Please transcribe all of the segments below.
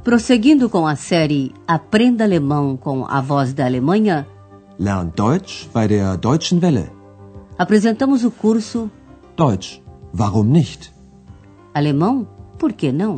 Prosseguindo com a série Aprenda Alemão com a Voz da Alemanha, Lern Deutsch bei der Deutschen Welle. Apresentamos o curso Deutsch, warum nicht? Alemão, por que não?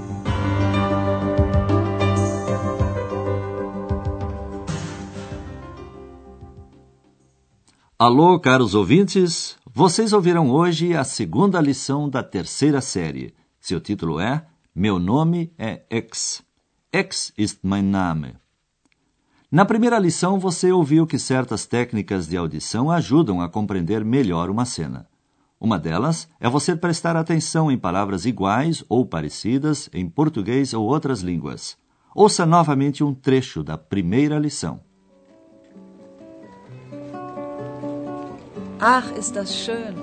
Alô, caros ouvintes! Vocês ouvirão hoje a segunda lição da terceira série. Seu título é Meu nome é X. X ist mein Name. Na primeira lição, você ouviu que certas técnicas de audição ajudam a compreender melhor uma cena. Uma delas é você prestar atenção em palavras iguais ou parecidas em português ou outras línguas. Ouça novamente um trecho da primeira lição. Ach, ist das schön.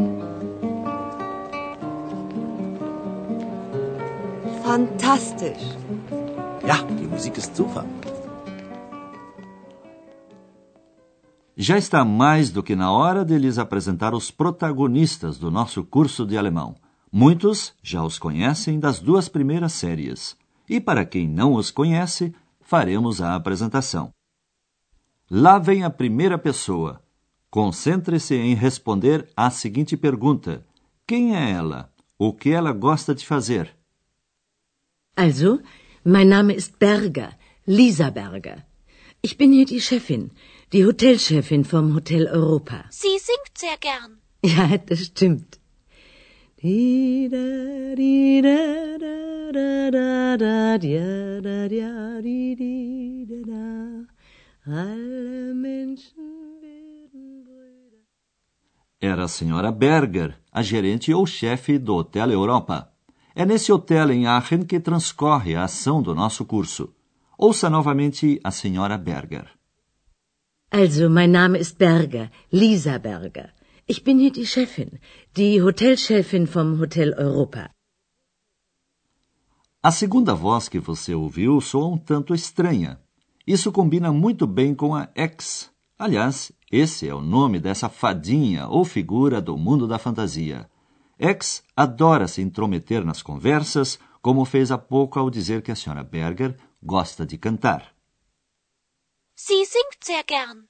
Fantastisch. Ja, die Musik ist super. Já está mais do que na hora de lhes apresentar os protagonistas do nosso curso de alemão. Muitos já os conhecem das duas primeiras séries. E para quem não os conhece, faremos a apresentação. Lá vem a primeira pessoa. Concentre-se em responder à seguinte pergunta. Quem é ela? O que ela gosta de fazer? Also, mein Name ist Berger, Lisa Berger. Ich bin hier die Chefin, die Hotelchefin vom Hotel Europa. Sie singt sehr gern. Ja, das stimmt. Alle Menschen werden Brüder. Era a senhora Berger, a gerente ou chefe do Hotel Europa. É nesse hotel em Aachen que transcorre a ação do nosso curso. Ouça novamente a senhora Berger. Also, mein Name ist Berger, Lisa Berger. Ich bin hier die Chefin, die Hotelchefin vom Hotel Europa. A segunda voz que você ouviu soa um tanto estranha. Isso combina muito bem com a X. Aliás, esse é o nome dessa fadinha ou figura do mundo da fantasia. X adora se intrometer nas conversas, como fez há pouco ao dizer que a senhora Berger gosta de cantar. Sie singt sehr gern.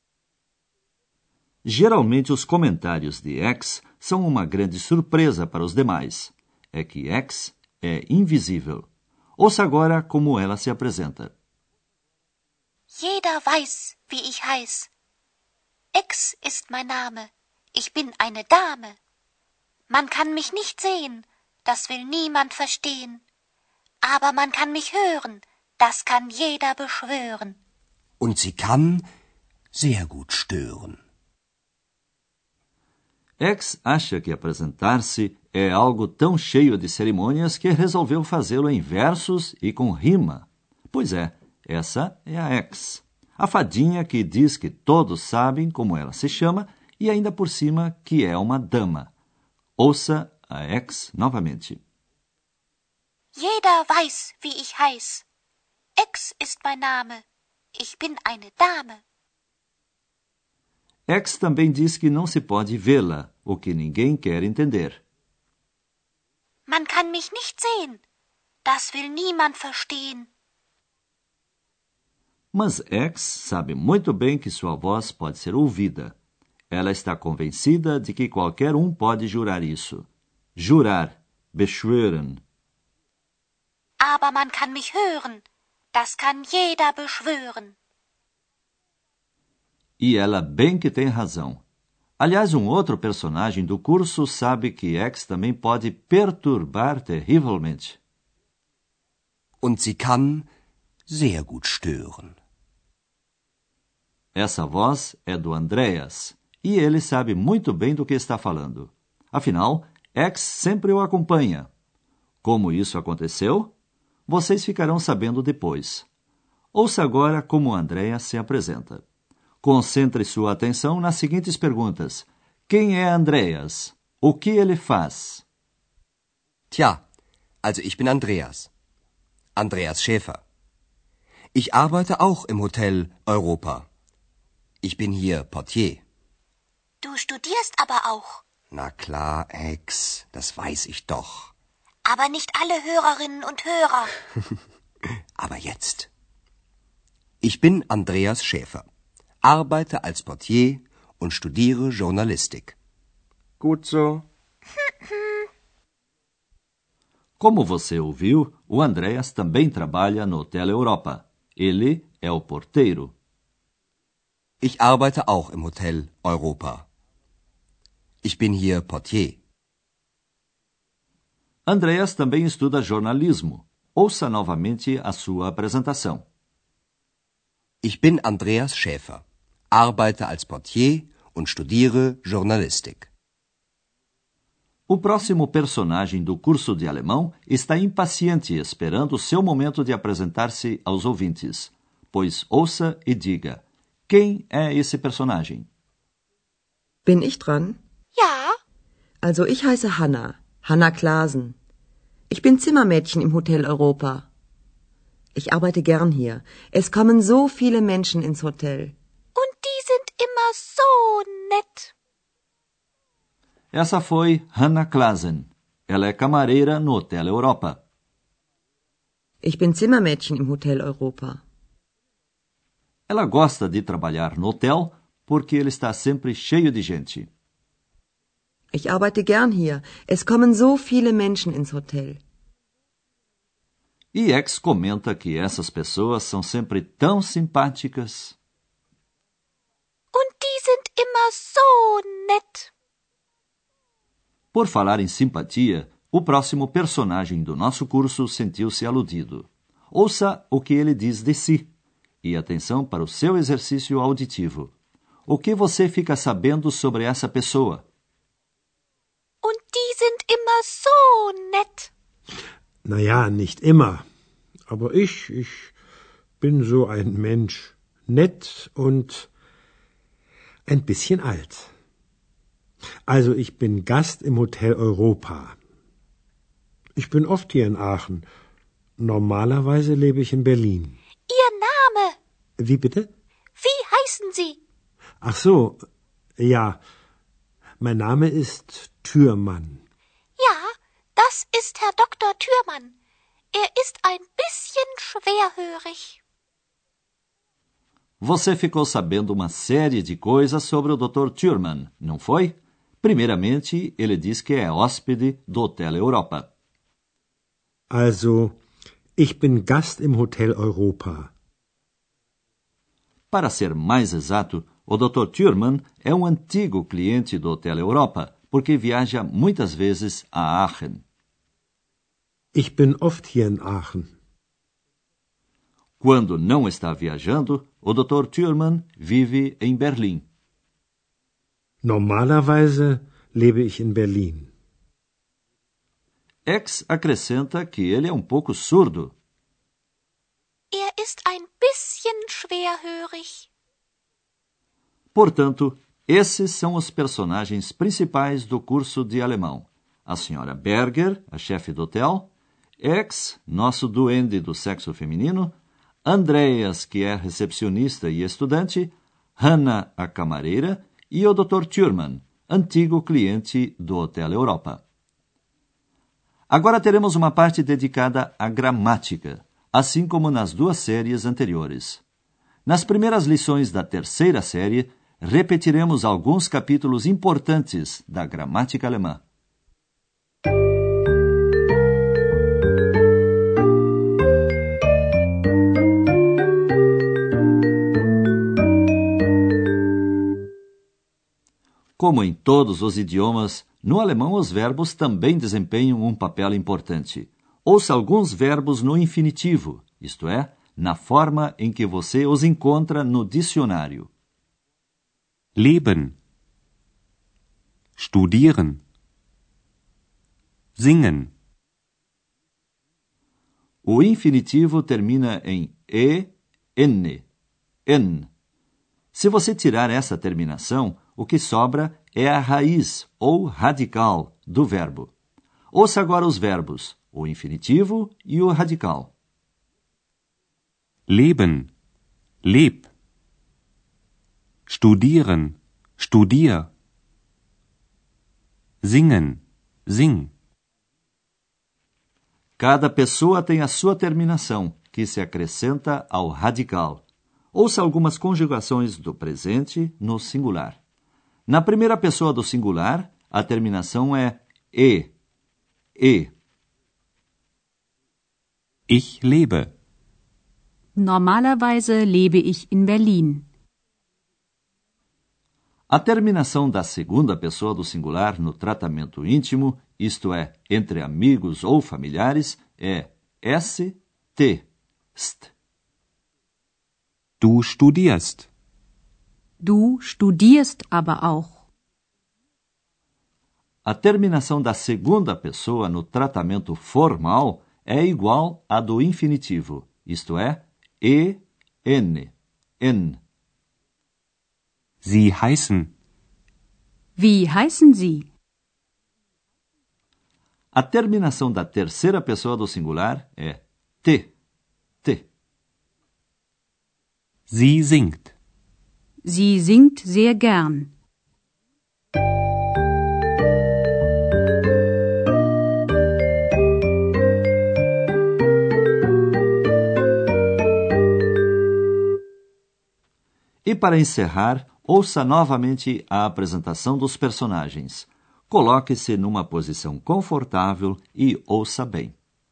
Geralmente, os comentários de X são uma grande surpresa para os demais. É que X é invisível. Ouça agora como ela se apresenta. Jeder weiß, wie ich heiß. X ist mein Name. Ich bin eine Dame. Man kann mich nicht sehen, das will niemand verstehen. Aber man kann mich hören, das kann jeder beschwören. Und sie kann sehr gut stören. X acha que apresentar-se é algo tão cheio de cerimônias que resolveu fazê-lo em versos e com rima. Pois é, essa é a X, a fadinha que diz que todos sabem como ela se chama e ainda por cima que é uma dama. Ouça a X novamente. Jeder weiß, wie ich heiß. X ist mein Name. Ich bin eine Dame. X também diz que não se pode vê-la, o que ninguém quer entender. Man kann mich nicht sehen. Das will niemand verstehen. Mas X sabe muito bem que sua voz pode ser ouvida. Ela está convencida de que qualquer um pode jurar isso. Jurar, beschwören. Aber man kann mich hören. Das kann jeder beschwören. E ela bem que tem razão. Aliás, um outro personagem do curso sabe que X também pode perturbar terrivelmente. Und sie kann sehr gut stören. Essa voz é do Andreas, e ele sabe muito bem do que está falando. Afinal, X sempre o acompanha. Como isso aconteceu? Vocês ficarão sabendo depois. Ouça agora como Andreas se apresenta. Concentre sua atenção nas seguintes perguntas. Quem é Andreas? O que ele faz? Tja, also ich bin Andreas. Andreas Schäfer. Ich arbeite auch im Hotel Europa. Ich bin hier Portier. Du studierst aber auch. Na klar, Ex, das weiß ich doch. Aber nicht alle Hörerinnen und Hörer. Aber jetzt. Ich bin Andreas Schäfer, arbeite als Portier und studiere Journalistik. Gut so. Como você ouviu, o Andreas também trabalha no Hotel Europa. Ele é o porteiro. Ich arbeite auch im Hotel Europa. Ich bin hier Portier. Andreas também estuda jornalismo. Ouça novamente a sua apresentação. Ich bin Andreas Schäfer, arbeite als Portier und studiere Journalistik. O próximo personagem do curso de alemão está impaciente esperando o seu momento de apresentar-se aos ouvintes. Pois ouça e diga: quem é esse personagem? Bin ich dran? Ja, Also ich heiße Hanna, Hanna Klaasen. Ich bin Zimmermädchen im Hotel Europa. Ich arbeite gern hier. Es kommen so viele Menschen ins Hotel. und die sind immer so nett. Essa foi Hanna Klaasen. Ela é camareira no Hotel Europa. Ich bin Zimmermädchen im Hotel Europa. Ela gosta de trabalhar no hotel porque ele está sempre cheio de gente. Ich arbeite gern hier. Es kommen so viele Menschen ins Hotel. E X comenta que essas pessoas são sempre tão simpáticas. Und die sind immer so nett. Por falar em simpatia, o próximo personagem do nosso curso sentiu-se aludido. Ouça o que ele diz de si. E atenção para o seu exercício auditivo. O que você fica sabendo sobre essa pessoa? Und die sind immer so nett. Naja, nicht immer. Aber ich bin so ein Mensch. Nett und ein bisschen alt. Also ich bin Gast im Hotel Europa. Ich bin oft hier in Aachen. Normalerweise lebe ich in Berlin. Ihr Name? Wie bitte? Wie heißen Sie? Ach so, ja. Mein Name ist Thürmann. Ja, das ist Herr Dr. Thürmann. Er ist ein bisschen schwerhörig. Você ficou sabendo uma série de coisas sobre o Dr. Thürmann, não foi? Primeiramente, ele diz que é hóspede do Hotel Europa. Also, ich bin Gast im Hotel Europa. Para ser mais exato, o Dr. Thürmann é um antigo cliente do Hotel Europa, porque viaja muitas vezes a Aachen. Ich bin oft hier in Aachen. Quando não está viajando, o Dr. Thürmann vive em Berlim. Normalerweise lebe ich in Berlin. X acrescenta que ele é um pouco surdo. Er ist ein bisschen schwerhörig. Portanto, esses são os personagens principais do curso de alemão. A senhora Berger, a chefe do hotel, X, nosso duende do sexo feminino, Andreas, que é recepcionista e estudante, Hanna, a camareira, e o Dr. Thürmann, antigo cliente do Hotel Europa. Agora teremos uma parte dedicada à gramática, assim como nas duas séries anteriores. Nas primeiras lições da terceira série, repetiremos alguns capítulos importantes da gramática alemã. Como em todos os idiomas, no alemão os verbos também desempenham um papel importante. Ouça alguns verbos no infinitivo, isto é, na forma em que você os encontra no dicionário. Leben. Studieren. Singen. O infinitivo termina em e, n, en. Se você tirar essa terminação, o que sobra é a raiz ou radical do verbo. Ouça agora os verbos, o infinitivo e o radical. Leben. Leb. Studieren. Studier. Singen. Sing. Cada pessoa tem a sua terminação, que se acrescenta ao radical. Ouça algumas conjugações do presente no singular. Na primeira pessoa do singular, a terminação é e. E. Ich lebe. Normalerweise lebe ich in Berlin. A terminação da segunda pessoa do singular no tratamento íntimo, isto é, entre amigos ou familiares, é st, st. Du studierst. Du studierst aber auch. A terminação da segunda pessoa no tratamento formal é igual à do infinitivo, isto é, en, n. Sie heißen. Wie heißen Sie? A terminação da terceira pessoa do singular é t. Sie singt. Sie singt sehr gern. E para encerrar, ouça novamente a apresentação dos personagens. Coloque-se numa posição confortável e ouça bem.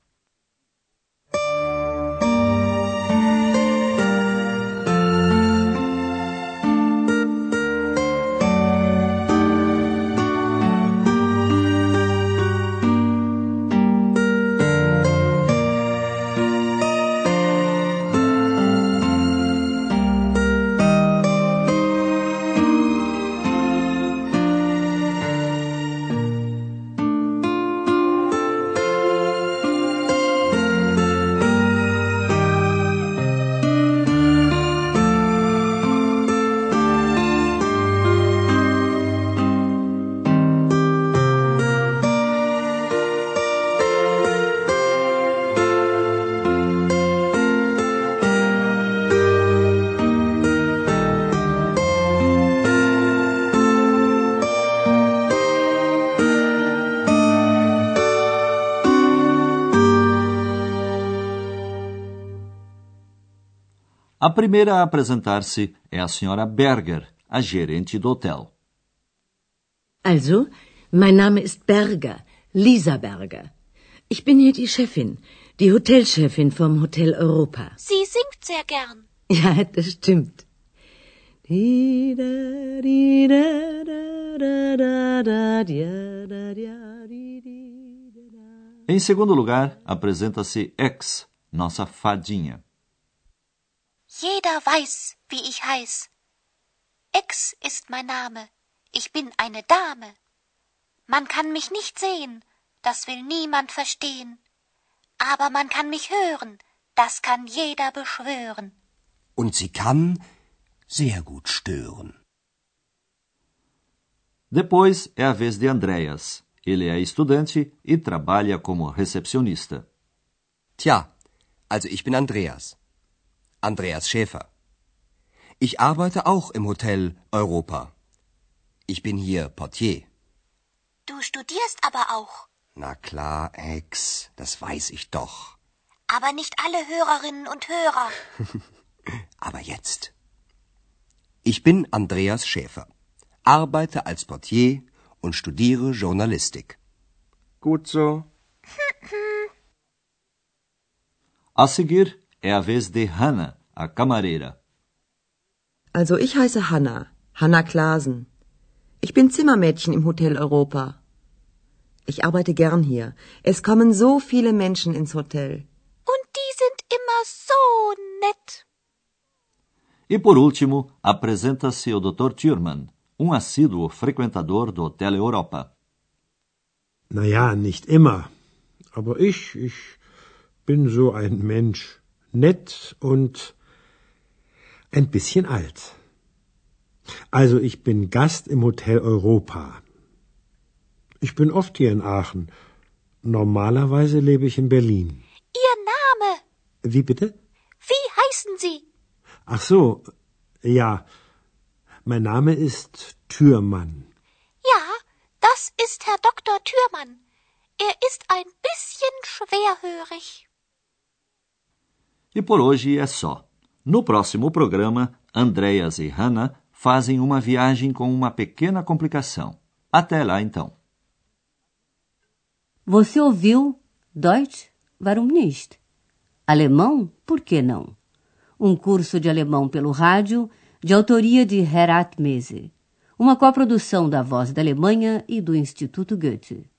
A primeira a apresentar-se é a senhora Berger, a gerente do hotel. Also, mein Name ist Berger, Lisa Berger. Ich bin hier die Chefin, die Hotelchefin vom Hotel Europa. Sie singt sehr gern. Ja, das stimmt. Em segundo lugar, apresenta-se X, nossa fadinha. Jeder weiß, wie ich heiß. X ist mein Name. Ich bin eine Dame. Man kann mich nicht sehen, das will niemand verstehen. Aber man kann mich hören, das kann jeder beschwören. Und sie kann sehr gut stören. Depois é a vez de Andreas. Ele é estudante e trabalha como recepcionista. Tja, also ich bin Andreas. Andreas Schäfer. Ich arbeite auch im Hotel Europa. Ich bin hier Portier. Du studierst aber auch. Na klar, Ex, das weiß ich doch. Aber nicht alle Hörerinnen und Hörer. Aber jetzt. Ich bin Andreas Schäfer, arbeite als Portier und studiere Journalistik. Gut so. A seguir é a vez de Hannah, a camareira. Also ich heiße Hanna Klasen. Ich bin Zimmermädchen im Hotel Europa. Ich arbeite gern hier. Es kommen so viele Menschen ins Hotel. Und die sind immer so nett. E por último, apresenta-se o Dr. Thürmann, assíduo frequentador do Hotel Europa. Na ja, nicht immer. Aber ich bin so ein Mensch. Nett und ein bisschen alt. Also ich bin Gast im Hotel Europa. Ich bin oft hier in Aachen. Normalerweise lebe ich in Berlin. Ihr Name? Wie bitte? Wie heißen Sie? Ach so, ja. Mein Name ist Thürmann. Ja, das ist Herr Dr. Thürmann. Er ist ein bisschen schwerhörig. E por hoje é só. No próximo programa, Andreas e Hannah fazem uma viagem com uma pequena complicação. Até lá, então. Você ouviu Deutsch? Warum nicht? Alemão? Por que não? Um curso de alemão pelo rádio, de autoria de Herat Mese. Uma coprodução da Voz da Alemanha e do Instituto Goethe.